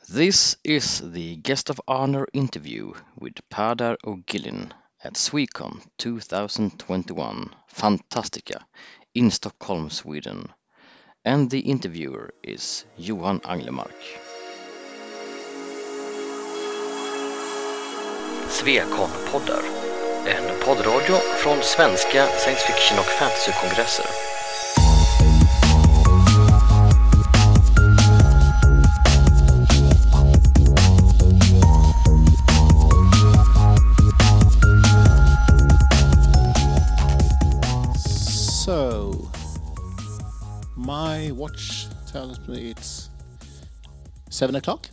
This is the guest of honor interview with Padar Ogilin at Swecon 2021 Fantastica in Stockholm, Sweden. And the interviewer is Johan Anglemark. Swecon-poddar, en poddradio från svenska science fiction och fantasykongresser. So, my watch tells me it's 7 o'clock.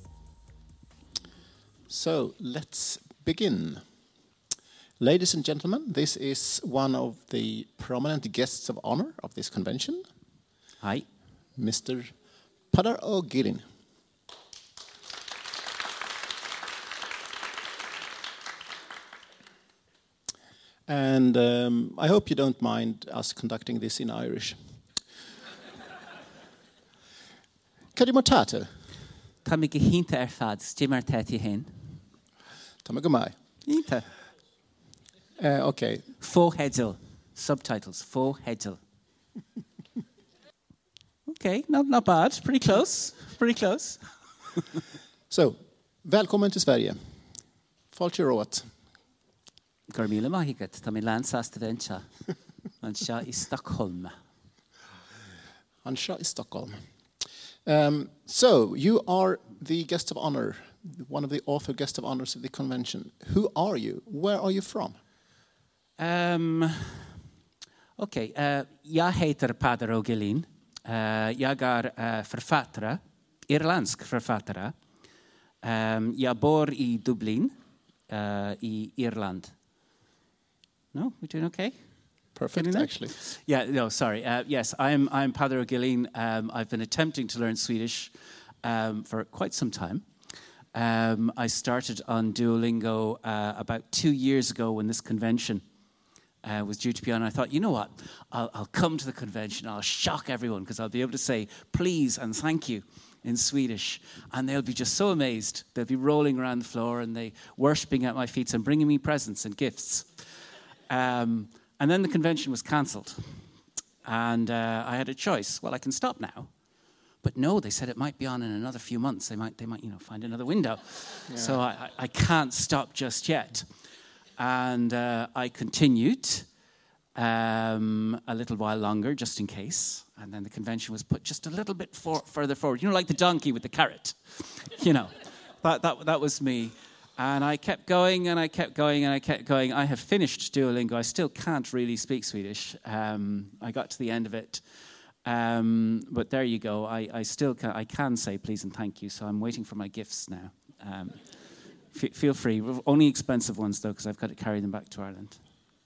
So, let's begin. Ladies and gentlemen, this is one of the prominent guests of honor of this convention. Hi. Mr. Padar Ogilin. And I hope you don't mind us conducting this in Irish. Cadi Mortato. Tá mi gehínta fad, stimar teti hen. Tamagomai. Hínta. Okay. Fo hedel. Subtitles. Fo hedel. Okay, not bad. Pretty close. Pretty close. So, välkommen till Sverige. Falcheråt. Gormila mahigat. Tá mi landsast vencha. Ansha I Stockholm. Ansha in Stockholm. So, you are the guest of honor, one of the author guest of honors of the convention. Who are you? Where are you from? Okay, jag heter Padar Ogilin. Jag är författare, irländsk författare. Jag bor I Dublin, I Irland. No, we're doing okay? Perfect, actually. Yeah, no, sorry. Yes, I'm Padar Ogilin. I've been attempting to learn Swedish for quite some time. I started on Duolingo about 2 years ago when this convention was due to be on. I thought, you know what? I'll come to the convention. I'll shock everyone because I'll be able to say please and thank you in Swedish. And they'll be just so amazed. They'll be rolling around the floor and they worshipping at my feet and bringing me presents and gifts. And then the convention was cancelled. And I had a choice. Well, I can stop now. But no, they said it might be on in another few months. They might, find another window. Yeah. So I can't stop just yet. And I continued a little while longer, just in case. And then the convention was put just a little bit further forward. You know, like the donkey with the carrot. You know, that was me. And I kept going, and I kept going, and I kept going. I have finished Duolingo. I still can't really speak Swedish. I got to the end of it. But there you go. I still can say please and thank you, so I'm waiting for my gifts now. Feel free. Only expensive ones, though, because I've got to carry them back to Ireland.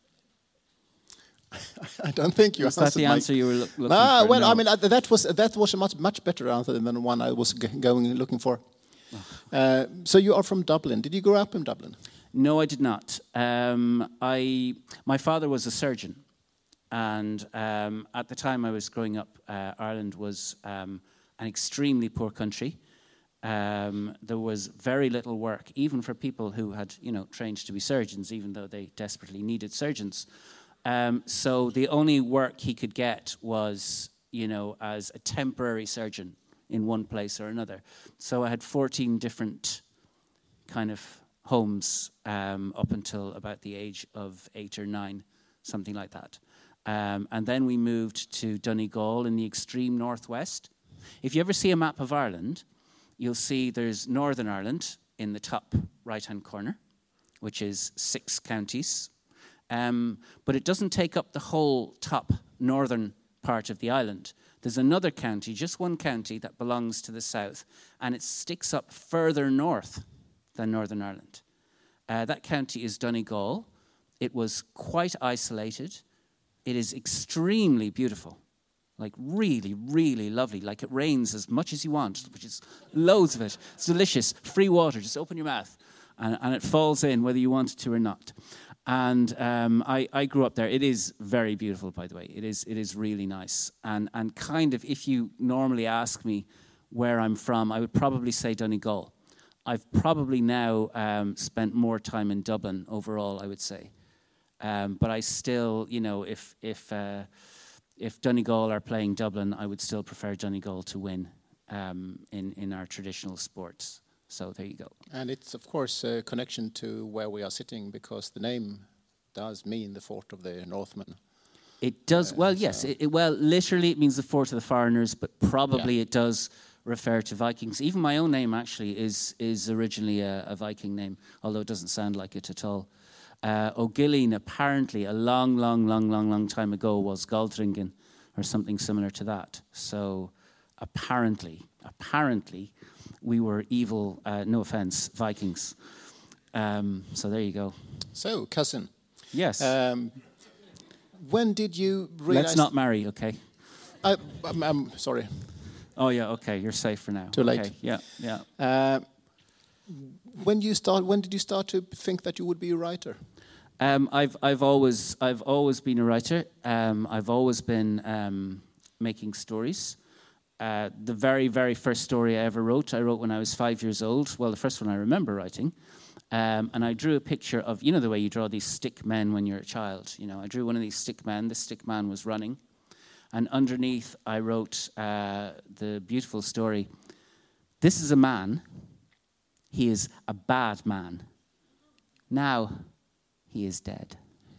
I don't think you answered. Was that the answer you were looking for? Well, No. I mean, that was a much better answer than the one I was looking for. Oh. So you are from Dublin. Did you grow up in Dublin? No, I did not. My father was a surgeon. And at the time I was growing up, Ireland was an extremely poor country. There was very little work, even for people who had, trained to be surgeons, even though they desperately needed surgeons. So the only work he could get was, as a temporary surgeon in one place or another. So I had 14 different kind of homes up until about the age of 8 or 9, something like that. And then we moved to Donegal in the extreme northwest. If you ever see a map of Ireland, you'll see there's Northern Ireland in the top right-hand corner, which is 6 counties. But it doesn't take up the whole top northern part of the island. There's another county, just one county, that belongs to the south, and it sticks up further north than Northern Ireland. That county is Donegal. It was quite isolated. It is extremely beautiful, like really, really lovely. Like it rains as much as you want, which is loads of it. It's delicious. Free water, just open your mouth, and it falls in whether you want it to or not. And I grew up there. It is very beautiful, by the way. It is really nice. And kind of, if you normally ask me, where I'm from, I would probably say Donegal. I've probably now spent more time in Dublin overall, I would say. But I still, you know, if Donegal are playing Dublin, I would still prefer Donegal to win in our traditional sports. So there you go. And it's, of course, a connection to where we are sitting, because the name does mean the fort of the Northmen. It does, well, yes. Well, literally it means the fort of the foreigners, but probably it does refer to Vikings. Even my own name, actually, is originally a Viking name, although it doesn't sound like it at all. O'Gilleen, apparently, a long time ago, was Galdringen, or something similar to that. So apparently, we were evil, no offense, Vikings. So there you go. So, cousin. Yes. When did you realize... Let's not marry, okay? I'm sorry. Oh, yeah, okay, you're safe for now. Too late. Okay, yeah. When did you start to think that you would be a writer? I've always been a writer. I've always been making stories. The very first story I ever wrote, I wrote when I was 5 years old. Well, the first one I remember writing. And I drew a picture of, you know, the way you draw these stick men when you're a child. You know, I drew one of these stick men. The stick man was running. And underneath, I wrote the beautiful story. This is a man. He is a bad man. Now, he is dead.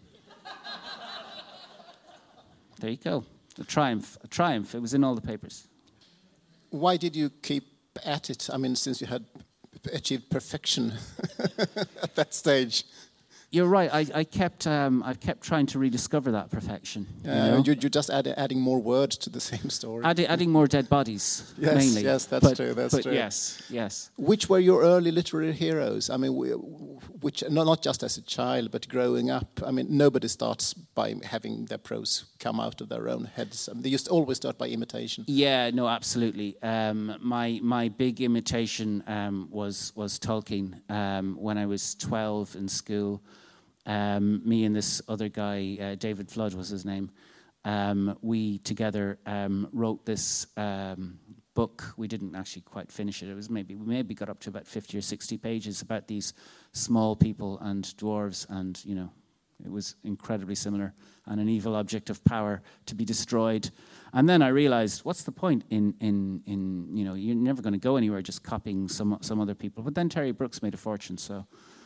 There you go. A triumph. It was in all the papers. Why did you keep at it? I mean, since you had achieved perfection at that stage. You're right. I kept trying to rediscover that perfection. You're just adding more words to the same story. Adding more dead bodies, yes, mainly. Yes, that's true. That's true. Yes. Which were your early literary heroes? I mean, which not just as a child, but growing up. I mean, nobody starts by having their prose come out of their own heads. I mean, they used to always start by imitation. Yeah, no, absolutely. My big imitation was Tolkien. When I was 12 in school. Me and this other guy, David Flood was his name, we together wrote this book. We didn't actually quite finish it. It was we maybe got up to about 50 or 60 pages about these small people and dwarves, and you know, it was incredibly similar, and an evil object of power to be destroyed. And then I realized, what's the point in you know, you're never going to go anywhere just copying some other people. But then Terry Brooks made a fortune, so.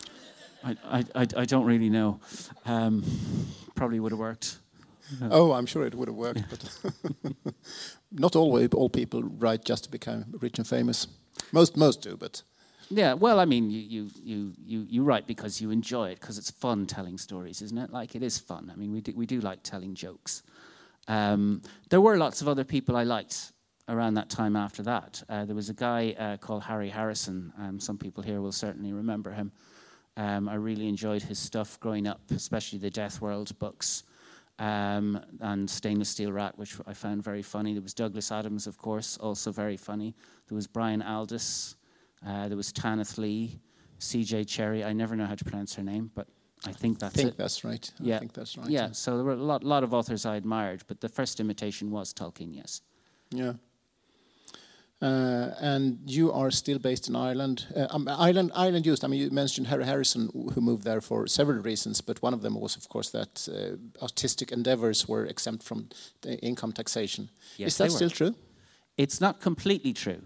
I don't really know. Probably would have worked. Oh, I'm sure it would have worked, but not all people write just to become rich and famous. Most do, but yeah. Well, I mean, you write because you enjoy it, because it's fun telling stories, isn't it? Like, it is fun. I mean, we do like telling jokes. There were lots of other people I liked around that time. After that, there was a guy called Harry Harrison. Some people here will certainly remember him. I really enjoyed his stuff growing up, especially the Death World books, and Stainless Steel Rat, which I found very funny. There was Douglas Adams, of course, also very funny. There was Brian Aldiss. There was Tanith Lee, C.J. Cherry. I never know how to pronounce her name, but I think that's it. That's right. Yeah. I think that's right. Yeah, so there were a lot of authors I admired, but the first imitation was Tolkien, yes. Yeah. And you are still based in Ireland. Ireland used. I mean, you mentioned Harry Harrison, who moved there for several reasons, but one of them was, of course, that artistic endeavors were exempt from the income taxation. Yes, is that still true? It's not completely true.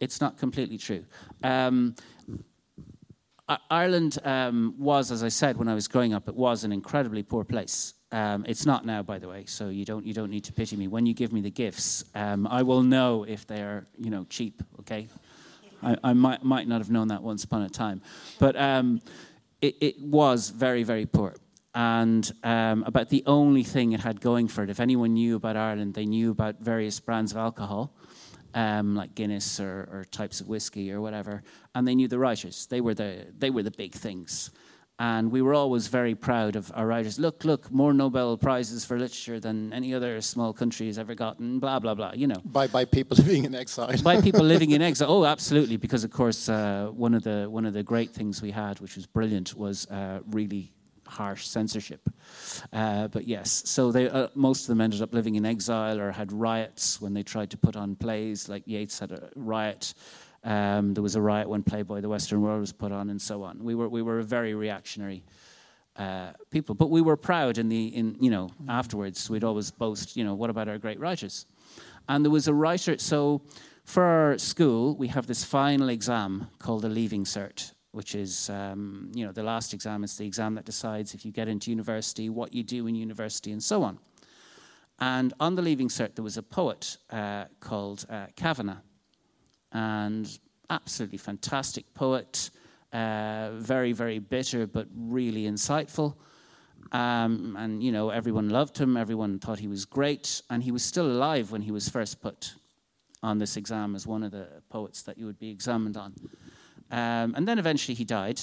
Ireland was, as I said, when I was growing up, it was an incredibly poor place. It's not now, by the way, so you don't need to pity me. When you give me the gifts, I will know if they are, you know, cheap. Okay, I might not have known that once upon a time, but it was very, very poor. And about the only thing it had going for it, if anyone knew about Ireland, they knew about various brands of alcohol, like Guinness or types of whiskey or whatever, and they knew the writers. They were the big things. And we were always very proud of our writers. Look, more Nobel Prizes for literature than any other small country has ever gotten, blah, blah, blah, you know. By people living in exile. By people living in exile. Oh, absolutely, because, of course, one of the great things we had, which was brilliant, was really harsh censorship. But yes, so they most of them ended up living in exile or had riots when they tried to put on plays. Like Yeats had a riot. There was a riot when Playboy the Western World was put on, and so on. We were a very reactionary people, but we were proud. Afterwards, we'd always boast. What about our great writers? And there was a writer. So for our school, we have this final exam called the Leaving Cert, which is the last exam. It's the exam that decides if you get into university, what you do in university, and so on. And on the Leaving Cert, there was a poet called Kavanagh. And absolutely fantastic poet, very, very bitter, but really insightful. Everyone loved him, everyone thought he was great, and he was still alive when he was first put on this exam as one of the poets that you would be examined on. And then eventually he died,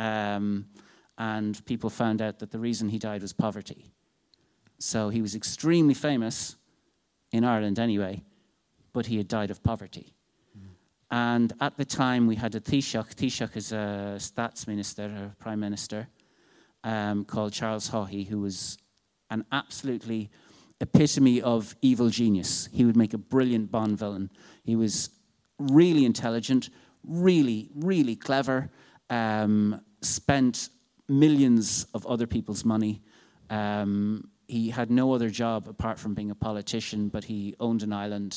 and people found out that the reason he died was poverty. So he was extremely famous, in Ireland anyway, but he had died of poverty. And at the time, we had a Taoiseach. Taoiseach is a stats minister, a prime minister, called Charles Haughey, who was an absolutely epitome of evil genius. He would make a brilliant Bond villain. He was really intelligent, really, really clever, spent millions of other people's money. He had no other job apart from being a politician, but he owned an island.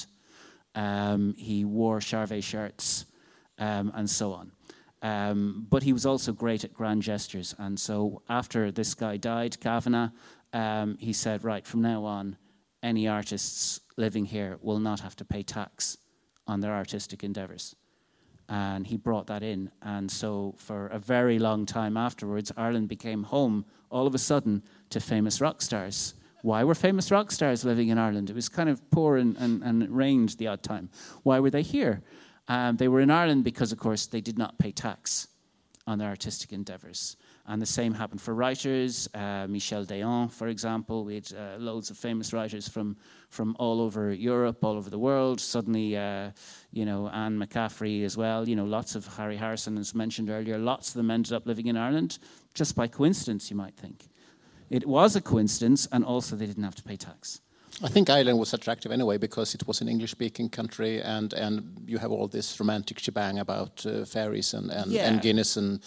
He wore Charvet shirts, and so on. But he was also great at grand gestures. And so after this guy died, Kavanagh, he said, right, from now on, any artists living here will not have to pay tax on their artistic endeavours. And he brought that in. And so for a very long time afterwards, Ireland became home, all of a sudden, to famous rock stars. Why were famous rock stars living in Ireland? It was kind of poor and it rained the odd time. Why were they here? They were in Ireland because, of course, they did not pay tax on their artistic endeavours. And the same happened for writers. Michel Déon, for example. We had loads of famous writers from all over Europe, all over the world. Suddenly, Anne McCaffrey as well. Lots of Harry Harrison, as mentioned earlier. Lots of them ended up living in Ireland just by coincidence, you might think. It was a coincidence, and also they didn't have to pay tax. I think Ireland was attractive anyway because it was an English-speaking country, and you have all this romantic shebang about fairies and Guinness and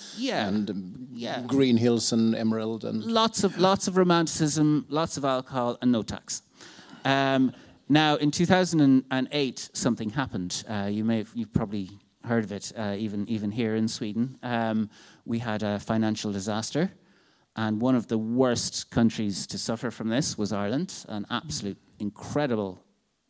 green hills and emerald and lots of romanticism, lots of alcohol, and no tax. Now, in 2008, something happened. You've probably heard of it, even here in Sweden. We had a financial disaster. And one of the worst countries to suffer from this was Ireland, an absolute incredible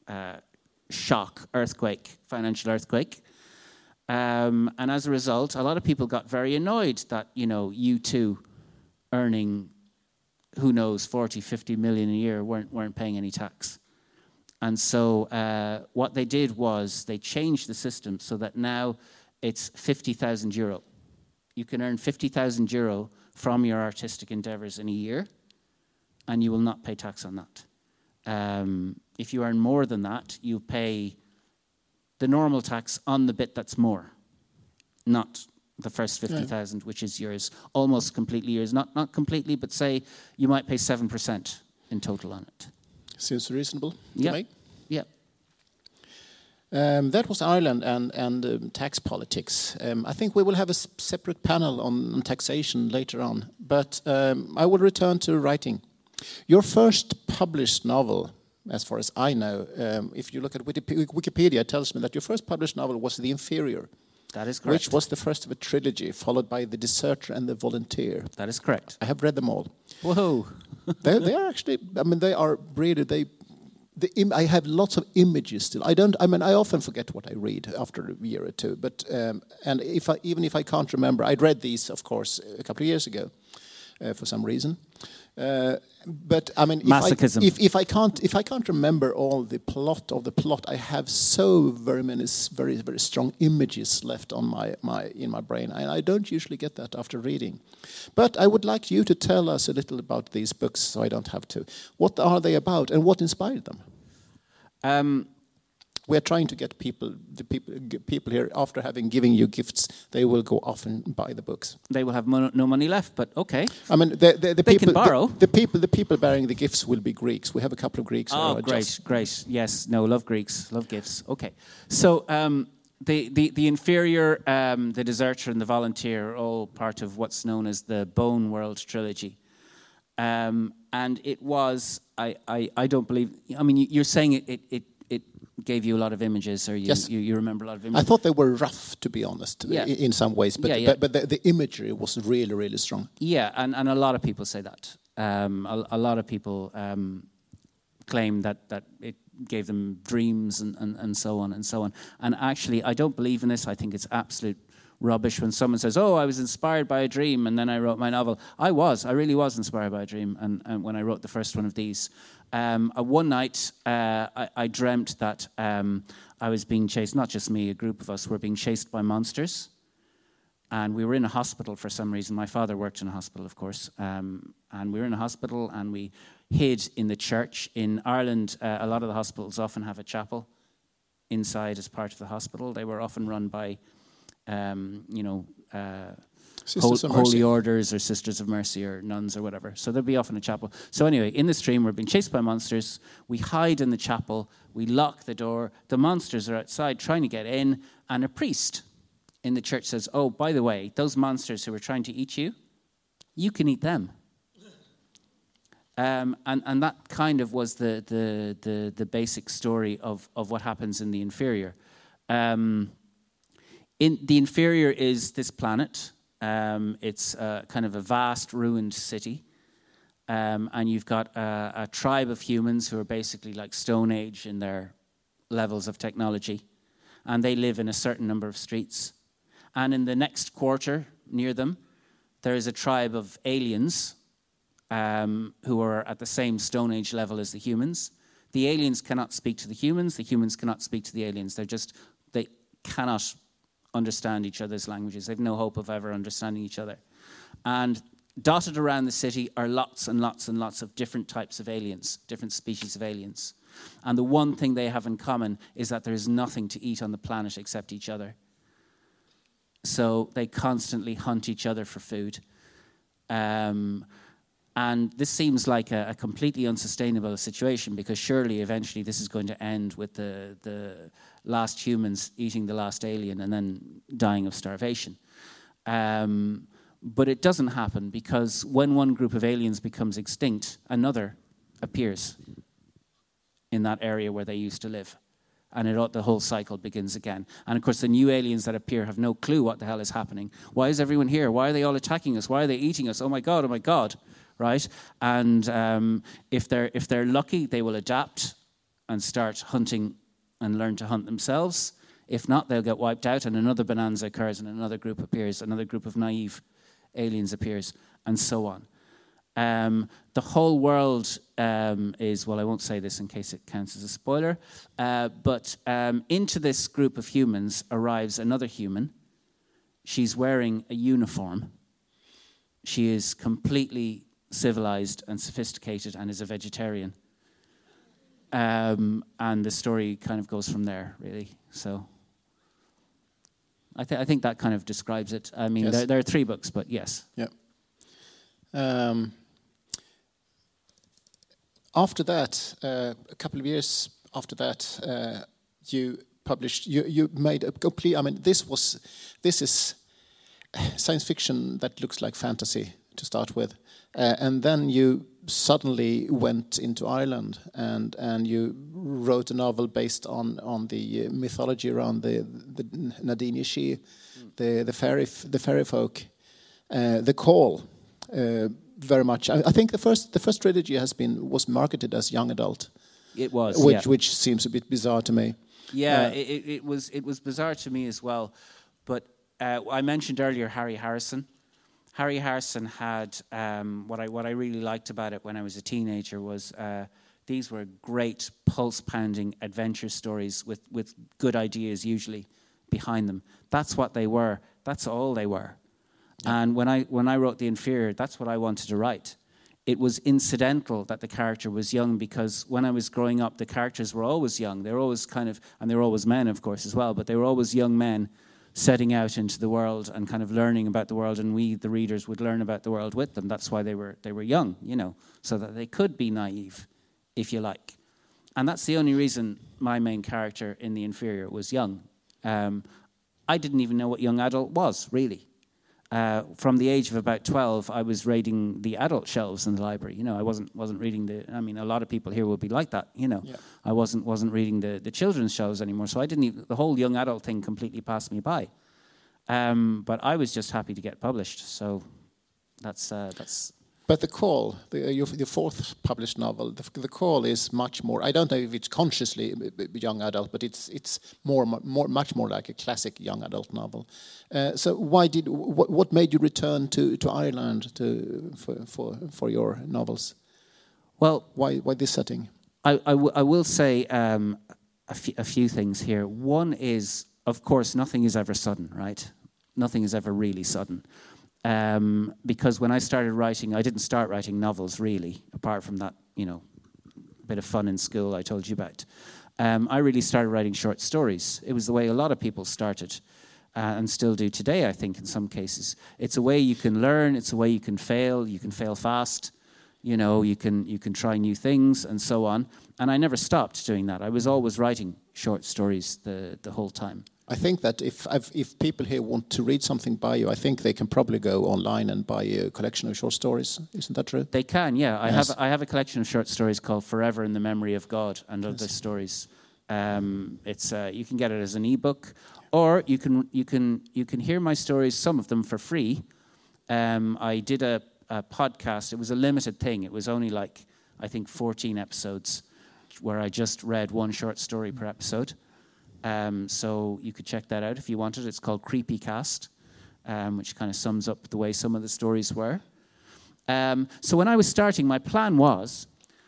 shock, financial earthquake. And as a result, a lot of people got very annoyed that, U2 earning, who knows, 40, 50 million a year weren't paying any tax. And so what they did was they changed the system so that now it's 50,000 euro. You can earn 50,000 euro from your artistic endeavours in a year, and you will not pay tax on that. If you earn more than that, you pay the normal tax on the bit that's more, not the first 50,000, which is yours, almost completely yours. Not completely, but say you might pay 7% in total on it. Seems reasonable to me. Yeah. That was Ireland and tax politics. I think we will have a separate panel on taxation later on. But I will return to writing. Your first published novel, as far as I know, if you look at Wikipedia, it tells me that your first published novel was The Inferior. That is correct. Which was the first of a trilogy, followed by The Deserter and The Volunteer. That is correct. I have read them all. Whoa. they are actually, they are really, I have lots of images still. I often forget what I read after a year or two. But and even if I can't remember, I'd read these, of course, a couple of years ago, for some reason. But masochism. If I can't remember all the plot, I have so very many very very strong images left on in my brain, and I don't usually get that after reading. But I would like you to tell us a little about these books, so I don't have to. What are they about, and what inspired them? We are trying to get people here, after having given you gifts, they will go off and buy the books. They will have no money left, but okay. I mean, the They people can borrow. The people bearing the gifts will be Greeks. We have a couple of Greeks. Oh, who are great, great. Yes, no, love Greeks, love gifts. Okay, so the inferior, the deserter, and the volunteer are all part of what's known as the Bone World trilogy. And it was, I don't believe, I mean, you're saying it gave you a lot of images, or you remember a lot of images. I thought they were rough, to be honest, in some ways, but but the imagery was really, really strong. Yeah, and a lot of people say that. A lot of people claim that it gave them dreams and so on and so on. And actually, I don't believe in this. I think it's absolute rubbish when someone says, "Oh, I was inspired by a dream and then I wrote my novel." I really was inspired by a dream, and when I wrote the first one of these. One night, I dreamt that I was being chased, not just me, a group of us were being chased by monsters. And we were in a hospital for some reason. My father worked in a hospital, of course. And we were in a hospital and we hid in the church. In Ireland, a lot of the hospitals often have a chapel inside as part of the hospital. They were often run by, holy orders or Sisters of Mercy or nuns or whatever. So there'd be often a chapel. So anyway, in this dream, we're being chased by monsters. We hide in the chapel. We lock the door. The monsters are outside trying to get in. And a priest in the church says, "Oh, by the way, those monsters who were trying to eat you, you can eat them." And that kind of was the basic story of what happens in the inferior. In the inferior is this planet. It's kind of a vast ruined city. And you've got a tribe of humans who are basically like Stone Age in their levels of technology. And they live in a certain number of streets. And in the next quarter near them, there is a tribe of aliens who are at the same Stone Age level as the humans. The aliens cannot speak to the humans cannot speak to the aliens. They cannot understand each other's languages. They've no hope of ever understanding each other. And dotted around the city are lots and lots and lots of different types of aliens, different species of aliens. And the one thing they have in common is that there is nothing to eat on the planet except each other. So they constantly hunt each other for food. And this seems like a completely unsustainable situation, because surely eventually this is going to end with the last humans eating the last alien and then dying of starvation. But it doesn't happen, because when one group of aliens becomes extinct, another appears in that area where they used to live. And the whole cycle begins again. And of course, the new aliens that appear have no clue what the hell is happening. Why is everyone here? Why are they all attacking us? Why are they eating us? Oh my God, right? And if they're lucky, they will adapt and start hunting and learn to hunt themselves. If not, they'll get wiped out, and another bonanza occurs, and another group appears, another group of naive aliens appears, and so on. The whole world is, well, I won't say this in case it counts as a spoiler, but into this group of humans arrives another human. She's wearing a uniform. She is completely civilized and sophisticated and is a vegetarian. And the story kind of goes from there, really. So I think that kind of describes it. I mean, yes. There are 3 books, but yes. Yeah. After that, a couple of years after that, you published. You made a complete. I mean, this is science fiction that looks like fantasy to start with, and then you suddenly went into Ireland and you wrote a novel based on the mythology around the Nadine Ishi, the fairy folk, the call. Very much. I think the first trilogy was marketed as young adult. It was, which seems a bit bizarre to me. Yeah, it was bizarre to me as well. But I mentioned earlier Harry Harrison. Harry Harrison had what I really liked about it when I was a teenager was these were great pulse-pounding adventure stories with good ideas usually behind them. That's what they were. That's all they were. Yeah. And when I wrote The Inferior, that's what I wanted to write. it was incidental that the character was young, because when I was growing up, the characters were always young. They were always and they were always men, of course, as well, but they were always young men setting out into the world and kind of learning about the world, and we, the readers, would learn about the world with them. That's why they were young, so that they could be naive, if you like. And that's the only reason my main character in The Inferior was young. I didn't even know what young adult was, really. From the age of about 12, I was raiding the adult shelves in the library. I wasn't reading a lot of people here will be like that, Yeah. I wasn't reading the children's shelves anymore, so I didn't even, the whole young adult thing completely passed me by. But I was just happy to get published, so that's. But The Call, your fourth published novel, The Call is much more. I don't know if it's consciously young adult, but it's much more like a classic young adult novel. So what made you return to Ireland for your novels? Well, why this setting? I will say a few things here. One is, of course, nothing is ever sudden, right? Nothing is ever really sudden. Because when I started writing, I didn't start writing novels really, apart from that, bit of fun in school I told you about. I really started writing short stories. It was the way a lot of people started, and still do today, I think, in some cases. It's a way you can learn. It's a way you can fail fast. You can try new things and so on. And I never stopped doing that. I was always writing short stories the whole time. I think that if people here want to read something by you, I think they can probably go online and buy a collection of short stories. Isn't that true? They can, yeah. Yes. I have a collection of short stories called Forever in the Memory of God and Other Stories. It's you can get it as an ebook, or you can hear my stories, some of them for free. I did a podcast. It was a limited thing. It was only I think 14 episodes, where I just read one short story per episode. So you could check that out if you wanted. It's called Creepy Cast, which kind of sums up the way some of the stories were. So when I was starting, my plan was,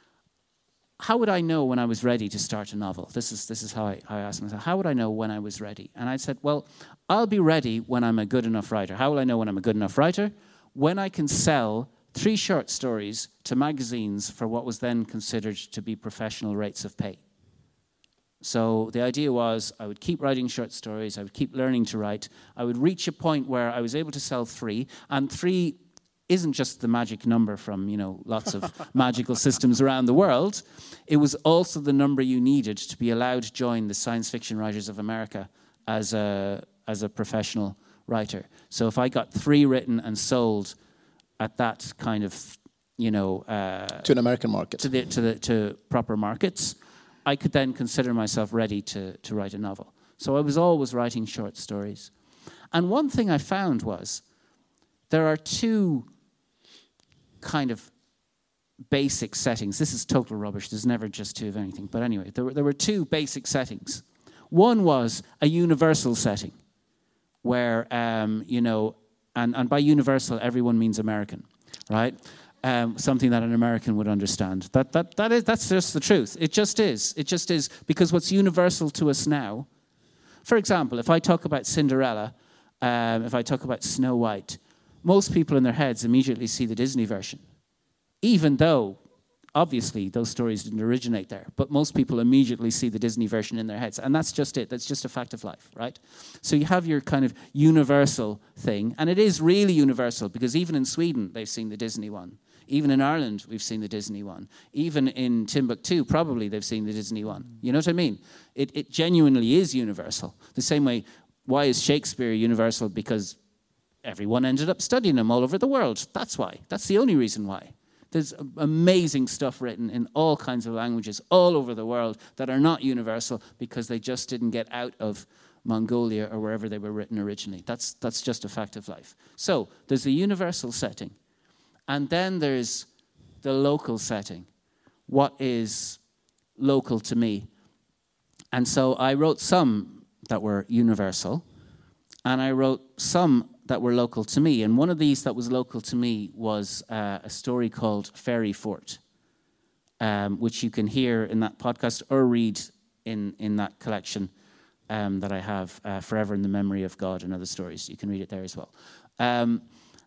how would I know when I was ready to start a novel? This is how I asked myself, how would I know when I was ready? And I said, well, I'll be ready when I'm a good enough writer. How will I know when I'm a good enough writer? When I can sell 3 short stories to magazines for what was then considered to be professional rates of pay. So the idea was I would keep writing short stories, I would keep learning to write, I would reach a point where I was able to sell 3, and 3 isn't just the magic number from, lots of magical systems around the world. It was also the number you needed to be allowed to join the Science Fiction Writers of America as a professional writer. So if I got 3 written and sold at that kind of, to an American market, to proper markets, I could then consider myself ready to write a novel. So I was always writing short stories. And one thing I found was there are 2 kind of basic settings. This is total rubbish. There's never just 2 of anything. But anyway, there were 2 basic settings. One was a universal setting where, and by universal, everyone means American, right? Something that an American would understand. That's just the truth. It just is. It just is. Because what's universal to us now, for example, if I talk about Cinderella, if I talk about Snow White, most people in their heads immediately see the Disney version. Even though, obviously, those stories didn't originate there. But most people immediately see the Disney version in their heads. And that's just it. That's just a fact of life, right? So you have your kind of universal thing. And it is really universal, because even in Sweden, they've seen the Disney one. Even in Ireland, we've seen the Disney one. Even in Timbuktu, probably they've seen the Disney one. You know what I mean? It genuinely is universal. The same way, why is Shakespeare universal? Because everyone ended up studying him all over the world. That's why. That's the only reason why. There's amazing stuff written in all kinds of languages all over the world that are not universal because they just didn't get out of Mongolia or wherever they were written originally. That's just a fact of life. So there's the universal setting. And then there's the local setting. What is local to me? And so I wrote some that were universal, and I wrote some that were local to me. And one of these that was local to me was a story called Fairy Fort, which you can hear in that podcast or read in that collection that I have, Forever in the Memory of God and Other Stories. You can read it there as well.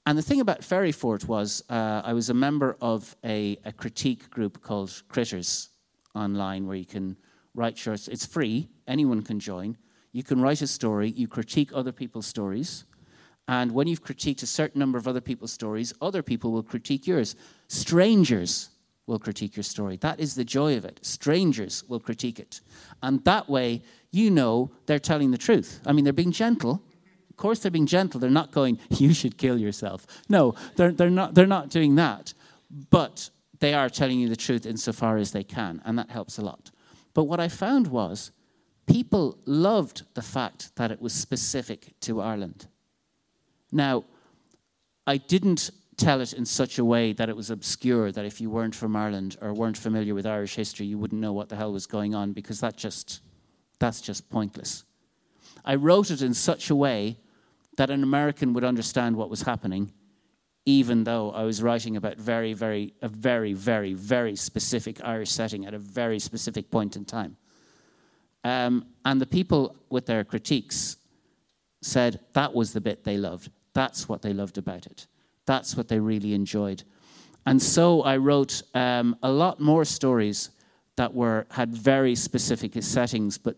And the thing about Ferryfort was I was a member of a critique group called Critters online, where you can write shorts. It's free. Anyone can join. You can write a story. You critique other people's stories. And when you've critiqued a certain number of other people's stories, other people will critique yours. Strangers will critique your story. That is the joy of it. Strangers will critique it. And that way, you know they're telling the truth. I mean, they're being gentle. Of course they're being gentle. They're not going, you should kill yourself. No, they're not doing that. But they are telling you the truth insofar as they can, and that helps a lot. But what I found was people loved the fact that it was specific to Ireland. Now, I didn't tell it in such a way that it was obscure, that if you weren't from Ireland or weren't familiar with Irish history, you wouldn't know what the hell was going on, because that's just pointless. I wrote it in such a way that an American would understand what was happening, even though I was writing about a very, very specific Irish setting at a very specific point in time. And the people with their critiques said that was the bit they loved. That's what they loved about it. That's what they really enjoyed. And so I wrote a lot more stories that had very specific settings, but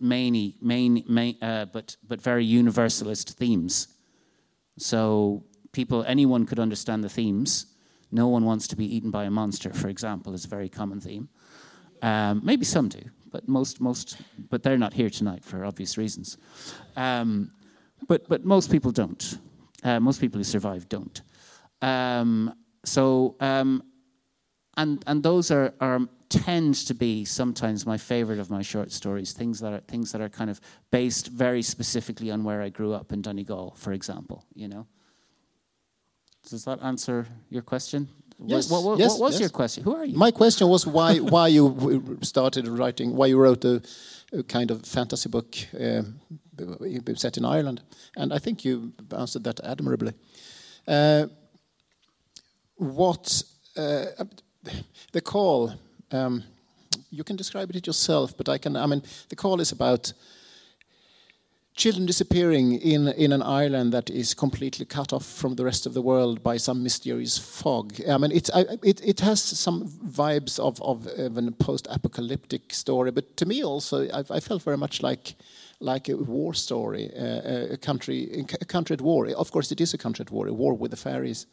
but very universalist themes. So anyone could understand the themes. No one wants to be eaten by a monster, for example, is a very common theme. Maybe some do, but but they're not here tonight for obvious reasons. But most people don't. Most people who survive don't. And those tend to be sometimes my favorite of my short stories. Things that are kind of based very specifically on where I grew up in Donegal, for example. You know. Does that answer your question? Yes. What was your question? Who are you? My question was why you started writing, why you wrote a kind of fantasy book set in Ireland, and I think you answered that admirably. The Call? You can describe it yourself, but The Call is about children disappearing in an island that is completely cut off from the rest of the world by some mysterious fog. It has some vibes of a post-apocalyptic story, but to me also, I felt very much like a war story, a country at war. Of course, it is a country at war, a war with the fairies.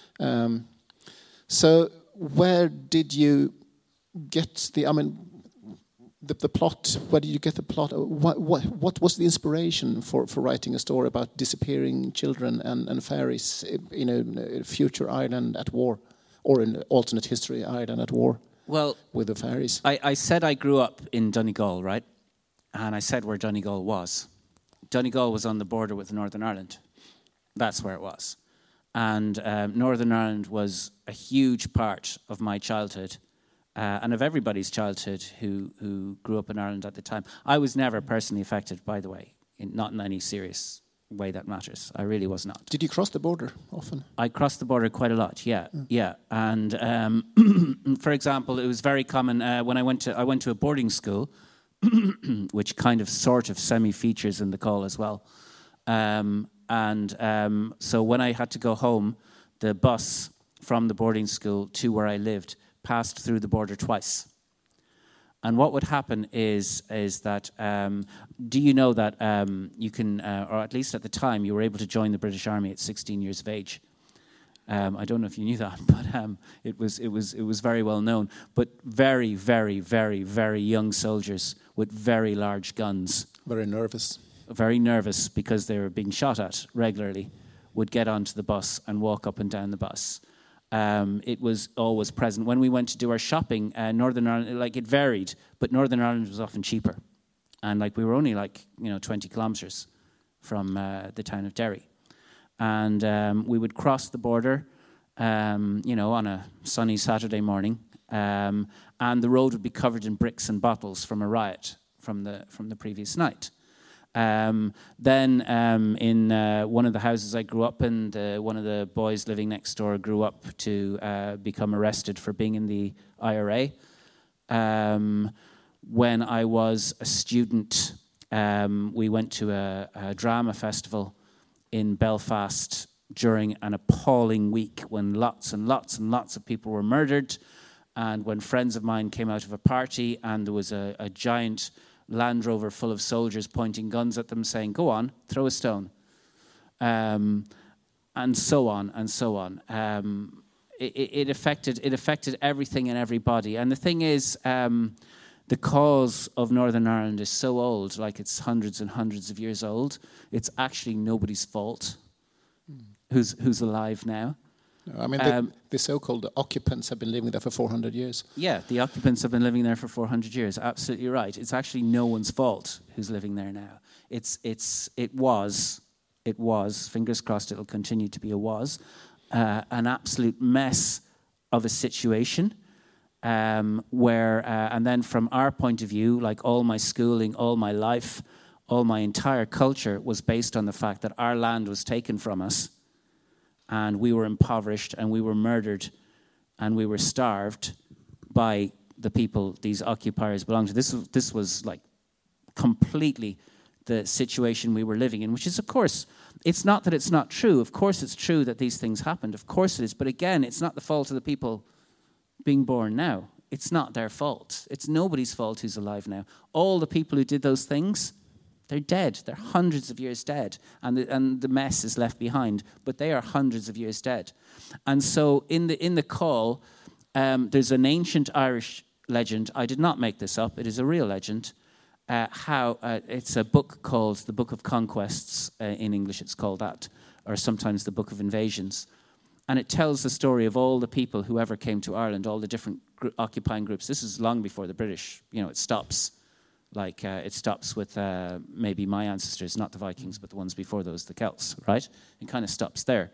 So, where did you get the plot? Where did you get the plot? What was the inspiration for writing a story about disappearing children and fairies in a future island at war, or an alternate history island at war? Well, with the fairies. I said I grew up in Donegal, right? And I said where Donegal was. Donegal was on the border with Northern Ireland. That's where it was. And Northern Ireland was a huge part of my childhood. And of everybody's childhood who grew up in Ireland at the time. I was never personally affected, by the way, not in any serious way that matters. I really was not. Did you cross the border often? I crossed the border quite a lot, yeah. And for example, it was very common when I went to a boarding school, which kind of sort of semi-features in the Call as well. So when I had to go home, the bus from the boarding school to where I lived passed through the border twice. And what would happen is that, do you know that you can, or at least at the time, you were able to join the British Army at 16 years of age? I don't know if you knew that, but it was very well known. But very, very, very, very young soldiers with very large guns. Very nervous. Very nervous because they were being shot at regularly, would get onto the bus and walk up and down the bus. It was always present. When we went to do our shopping, Northern Ireland, it varied, but Northern Ireland was often cheaper. And we were only 20 kilometres from the town of Derry. And we would cross the border, on a sunny Saturday morning, and the road would be covered in bricks and bottles from a riot from the previous night. Then in one of the houses I grew up in, one of the boys living next door grew up to become arrested for being in the IRA. When I was a student, we went to a drama festival in Belfast during an appalling week when lots and lots and lots of people were murdered, and when friends of mine came out of a party and there was a giant Land Rover full of soldiers pointing guns at them saying, "Go on, throw a stone." And so on and so on. It affected everything and everybody. And the thing is, the cause of Northern Ireland is so old, like it's hundreds and hundreds of years old. It's actually nobody's fault who's alive now. I mean, the so-called occupants have been living there for 400 years. Yeah, the occupants have been living there for 400 years. Absolutely right. It's actually no one's fault who's living there now. It was, fingers crossed it'll continue to be an absolute mess of a situation where, and then from our point of view, like all my schooling, all my life, all my entire culture was based on the fact that our land was taken from us and we were impoverished and we were murdered and we were starved by the people these occupiers belonged to. This was like completely the situation we were living in, which is, of course, it's not that it's not true. Of course it's true that these things happened. Of course it is. But again, it's not the fault of the people being born now. It's not their fault. It's nobody's fault who's alive now. All the people who did those things, they're dead. They're hundreds of years dead. And the mess is left behind. But they are hundreds of years dead. And so in the call, there's an ancient Irish legend. I did not make this up. It is a real legend. It's a book called the Book of Conquests. In English it's called that, or sometimes the Book of Invasions. And it tells the story of all the people who ever came to Ireland, all the different occupying groups. This is long before the British. It stops. It stops with maybe my ancestors, not the Vikings, but the ones before those, the Celts, right? It kind of stops there.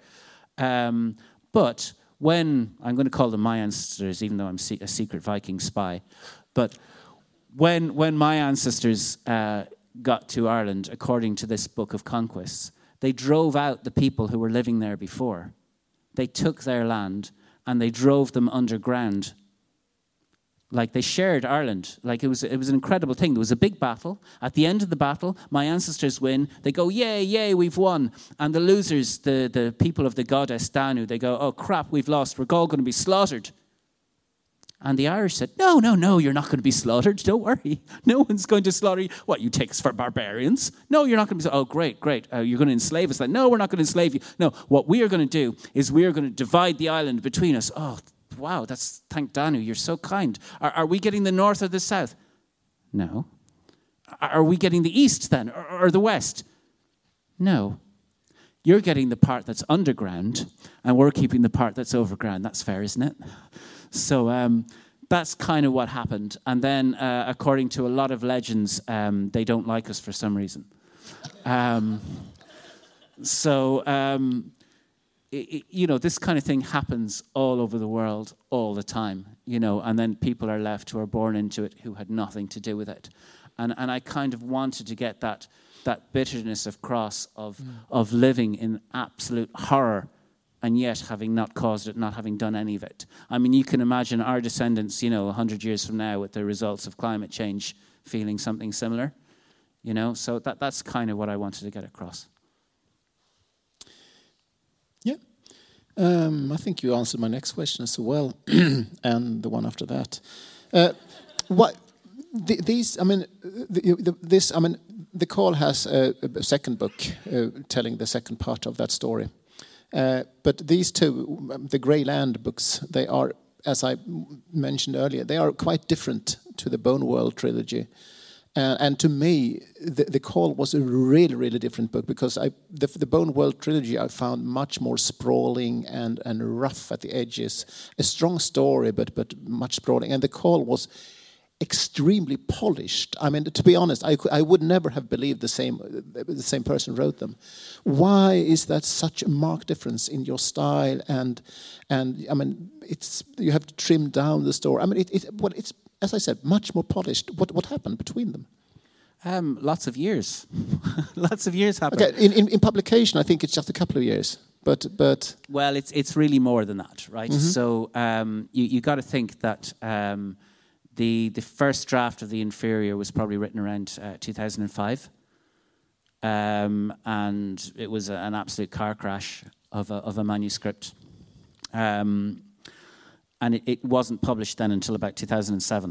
But when, I'm going to call them my ancestors, even though I'm a secret Viking spy, but when my ancestors got to Ireland, according to this Book of Conquests, they drove out the people who were living there before. They took their land and they drove them underground. Like they shared Ireland. Like it was an incredible thing. There was a big battle. At the end of the battle, my ancestors win. They go, yay, yay, we've won. And the losers, the people of the goddess Danu, they go, oh crap, we've lost. We're all going to be slaughtered. And the Irish said, no, you're not going to be slaughtered. Don't worry. No one's going to slaughter you. What, you take us for barbarians? No, you're not going to be. Oh, great. You're going to enslave us. Like, no, we're not going to enslave you. No, what we are going to do is we are going to divide the island between us. Oh, wow, thank Danu. You're so kind. Are we getting the north or the south? No. Are we getting the east then or the west? No. You're getting the part that's underground and we're keeping the part that's overground. That's fair, isn't it? So that's kind of what happened. And then, according to a lot of legends, they don't like us for some reason. This kind of thing happens all over the world all the time, and then people are left who are born into it who had nothing to do with it. And I kind of wanted to get that bitterness across of living in absolute horror and yet having not caused it, not having done any of it. I mean, you can imagine our descendants, 100 years from now with the results of climate change feeling something similar, So that's kind of what I wanted to get across. Yeah. I think you answered my next question as well, and the one after that. The call has a second book telling the second part of that story. But these two, the Grey Land books, they are, as I mentioned earlier, they are quite different to the Bone World trilogy. And to me, the Call was a really, really different book because the Bone World trilogy I found much more sprawling and rough at the edges. A strong story, but much sprawling. And the Call was extremely polished. I mean, to be honest, I would never have believed the same person wrote them. Why is that such a marked difference in your style? And I mean, you have to trim down the story. I mean, it's as I said, much more polished. What happened between them? Lots of years. Lots of years happened. Okay, in publication, I think it's just a couple of years. But well, it's really more than that, right? Mm-hmm. So you got to think that the first draft of The Inferior was probably written around 2005, and it was an absolute car crash. of a manuscript. And it wasn't published then until about 2007.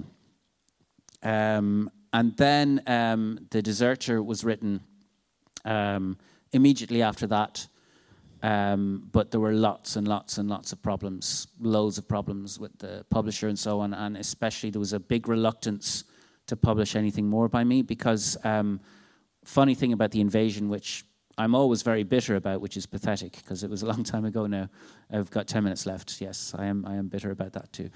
And then The Deserter was written immediately after that. But there were lots and lots and lots of problems, loads of problems with the publisher and so on. And especially there was a big reluctance to publish anything more by me because funny thing about The Invasion, which I'm always very bitter about, which is pathetic because it was a long time ago now. I've got 10 minutes left. Yes, I am bitter about that too.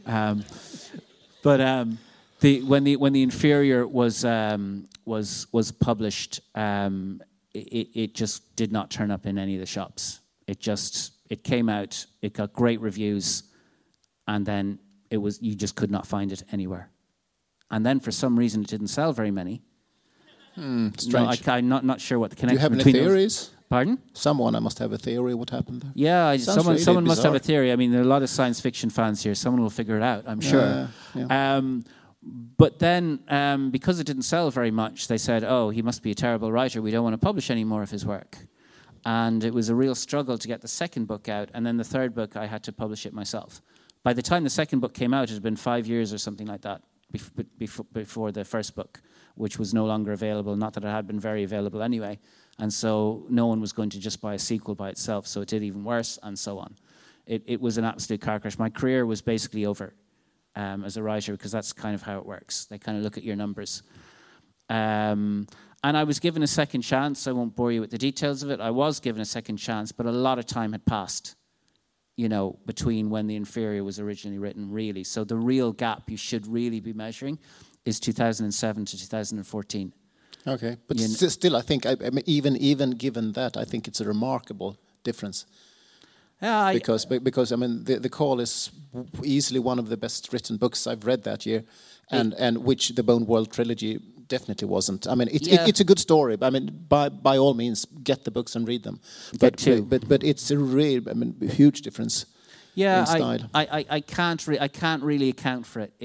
When the Inferior was published, it just did not turn up in any of the shops. It came out, it got great reviews, and then you just could not find it anywhere. And then for some reason it didn't sell very many. Strange. No, I'm not sure what the Do you connection have any between theories? Pardon? Someone must have a theory what happened there. Yeah, Sounds really someone must have a bizarre. theory. I mean, there are a lot of science fiction fans here. Someone will figure it out, I'm sure. Yeah. But then, because it didn't sell very much, they said, oh, he must be a terrible writer. We don't want to publish any more of his work. And it was a real struggle to get the second book out. And then the third book, I had to publish it myself. By the time the second book came out, it had been 5 years or something like that before the first book, which was no longer available. Not that it had been very available anyway. And so no one was going to just buy a sequel by itself. So it did even worse, and so on. It was an absolute car crash. My career was basically over as a writer, because that's kind of how it works. They kind of look at your numbers. And I was given a second chance. I won't bore you with the details of it. I was given a second chance, but a lot of time had passed, between when The Inferior was originally written, really. So the real gap you should really be measuring is 2007 to 2014. Okay, but still, I think, even given that, I think it's a remarkable difference. Yeah, Because I mean, The Call is easily one of the best written books I've read that year, and which the Bone World trilogy definitely wasn't. I mean, it's a good story. I mean, by all means, get the books and read them. But it's a real, huge difference. Yeah, in style. I can't really account for it.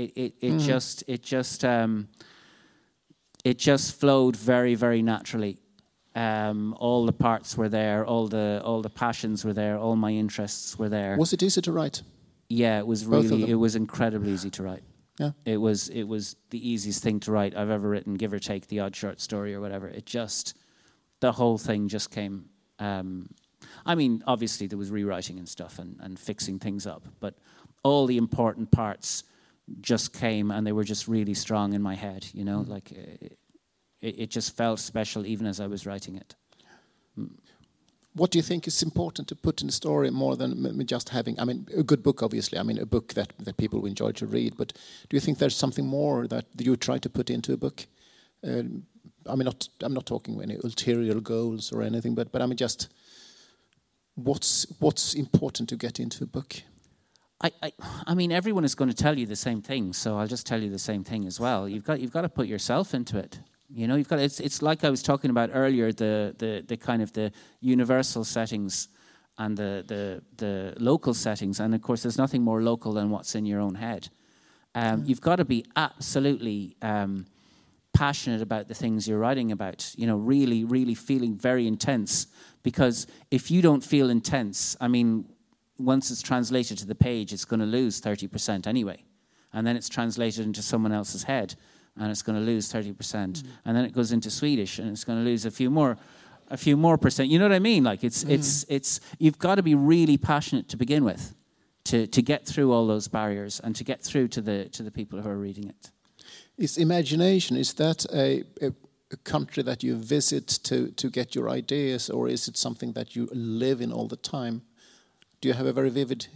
It just flowed very, very naturally. All the parts were there, all the passions were there, all my interests were there. Was it easy to write? Yeah, it was incredibly easy to write. Yeah. It was the easiest thing to write I've ever written, give or take the odd short story or whatever. The whole thing just came. Obviously there was rewriting and stuff and fixing things up, but all the important parts just came, and they were just really strong in my head, like it just felt special even as I was writing it. What do you think is important to put in the story more than just having, a good book, obviously, a book that people will enjoy to read, but do you think there's something more that you try to put into a book? I'm not talking any ulterior goals or anything, but just what's important to get into a book? Everyone is going to tell you the same thing, so I'll just tell you the same thing as well. You've got to put yourself into it. You've got. It's like I was talking about earlier, the kind of the universal settings and the local settings, and of course, there's nothing more local than what's in your own head. You've got to be absolutely passionate about the things you're writing about. Really, really feeling very intense. Because if you don't feel intense, once it's translated to the page, it's going to lose 30% anyway, and then it's translated into someone else's head, and it's going to lose 30%, and then it goes into Swedish, and it's going to lose a few more percent. You know what I mean? Like it's you've got to be really passionate to begin with, to get through all those barriers and to get through to the people who are reading it. Is imagination, is that a country that you visit to get your ideas, or is it something that you live in all the time? Do you have a very vivid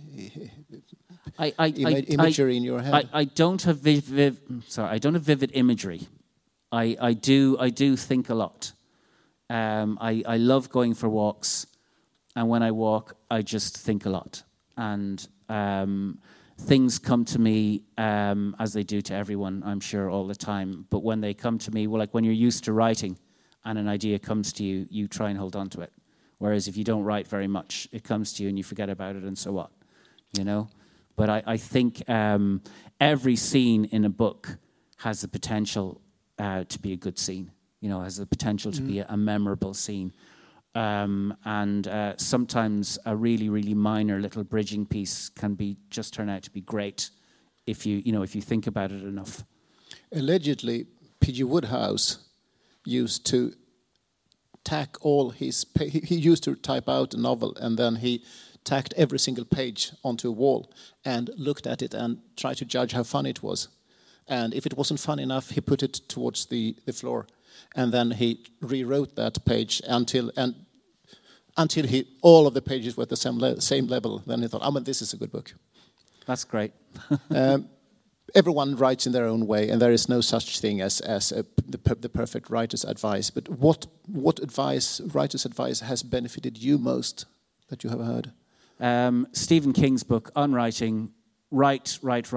imagery in your head? I don't have vivid imagery. I do think a lot. I love going for walks, and when I walk, I just think a lot. And things come to me as they do to everyone, I'm sure, all the time. But when they come to me, like when you're used to writing and an idea comes to you, you try and hold on to it. Whereas if you don't write very much, it comes to you and you forget about it, and so what, But I think every scene in a book has the potential to be a good scene, has the potential to be a memorable scene. And sometimes a really, really minor little bridging piece can just turn out to be great if you think about it enough. Allegedly, P.G. Wodehouse used to tack all his... He used to type out a novel, and then he tacked every single page onto a wall and looked at it and tried to judge how funny it was. And if it wasn't fun enough, he put it towards the floor. And then he rewrote that page until all of the pages were at the same level. Then he thought, this is a good book. That's great. Everyone writes in their own way, and there is no such thing as the perfect writer's advice. But what writer's advice has benefited you most that you have heard? Stephen King's book on writing. Write.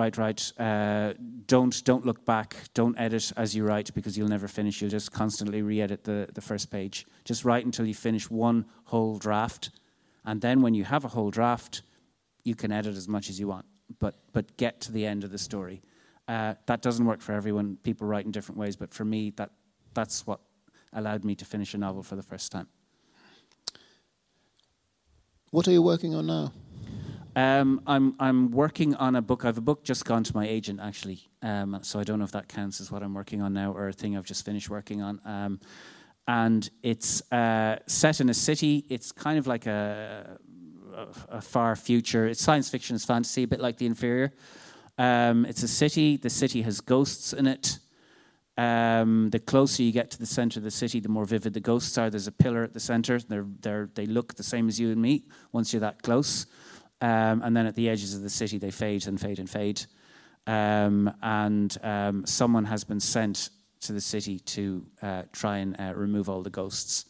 Don't look back. Don't edit as you write, because you'll never finish. You'll just constantly re-edit the first page. Just write until you finish one whole draft. And then when you have a whole draft, you can edit as much as you want. But get to the end of the story. That doesn't work for everyone. People write in different ways. But for me, that's what allowed me to finish a novel for the first time. What are you working on now? I'm working on a book. I have a book just gone to my agent, actually. So I don't know if that counts as what I'm working on now or a thing I've just finished working on. And it's set in a city. It's kind of like a far future. It's science fiction, it's fantasy, a bit like The Inferior. It's a city. The city has ghosts in it. The closer you get to the center of the city, the more vivid the ghosts are. There's a pillar at the center. They look the same as you and me once you're that close. And then at the edges of the city, they fade and fade and fade. Someone has been sent to the city to try and remove all the ghosts.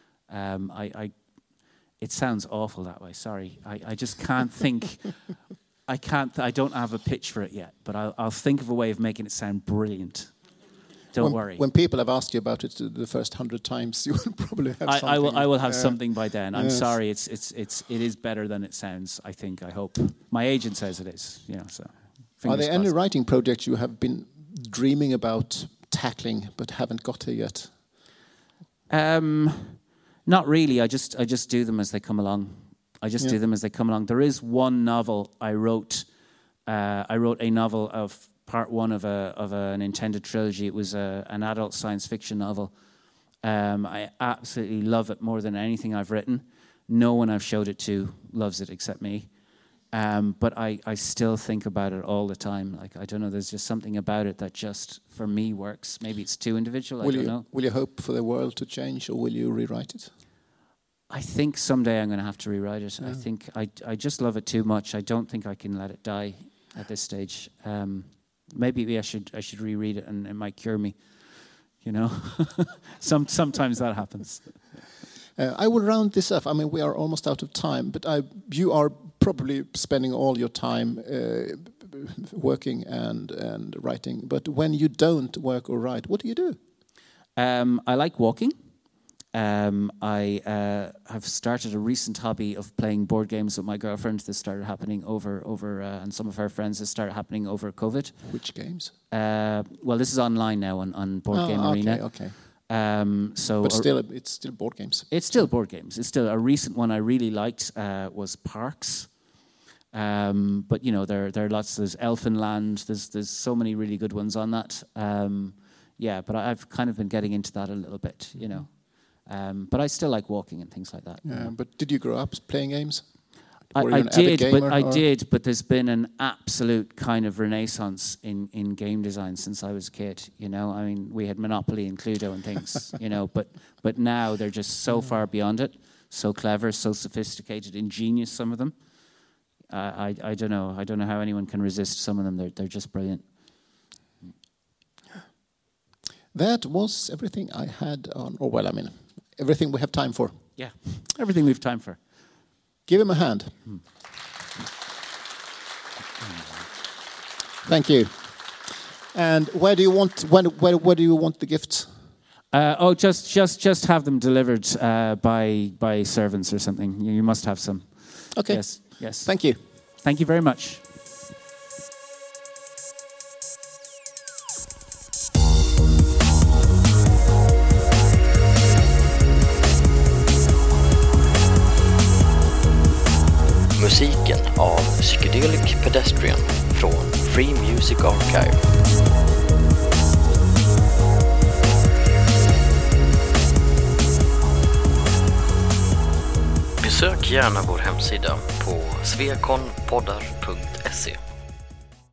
It sounds awful that way. Sorry, I just can't think. I don't have a pitch for it yet, but I'll think of a way of making it sound brilliant. Don't worry. When people have asked you about it the first 100 times, you will probably have something. I will have something by then. I'm sorry. It is better than it sounds. I think. I hope. My agent says it is. So. Are there any writing projects you have been dreaming about tackling but haven't got here yet? Not really. I just do them as they come along. Do them as they come along. There is one novel I wrote. I wrote a novel of part one of an intended trilogy. It was an adult science fiction novel. I absolutely love it more than anything I've written. No one I've showed it to loves it except me. But I still think about it all the time. Like, I don't know, there's just something about it that just, for me, works. Maybe it's too individual, I don't know. Will you hope for the world to change, or will you rewrite it? I think someday I'm going to have to rewrite it. I think I just love it too much. I don't think I can let it die at this stage. Maybe I should reread it, and it might cure me. Sometimes that happens. I will round this up. I mean, we are almost out of time, but you are probably spending all your time working and writing. But when you don't work or write, what do you do? I like walking. I have started a recent hobby of playing board games with my girlfriend. This started happening over and some of her friends. This started happening over COVID. Which games? Well, this is online now on Board Game Arena. Okay. But still, it's still board games. It's still board games. It's still a recent one I really liked was Parks. But there are lots. There's Elfenland. There's so many really good ones on that. But I've kind of been getting into that a little bit. But I still like walking and things like that. Yeah, but did you grow up playing games? I did, but there's been an absolute kind of renaissance in game design since I was a kid. I mean, we had Monopoly and Cluedo and things, but now they're just so far beyond it, so clever, so sophisticated, ingenious. Some of them, I don't know. I don't know how anyone can resist some of them. They're just brilliant. That was everything I had on. Everything we have time for. Yeah, everything we have time for. Give him a hand. Thank you. And where do you want the gifts? Just have them delivered by servants or something. You must have some. Okay. Yes. Thank you. Thank you very much. Psychedelic Pedestrian från Free Music Archive. Besök gärna vår hemsida på svekonpoddar.se.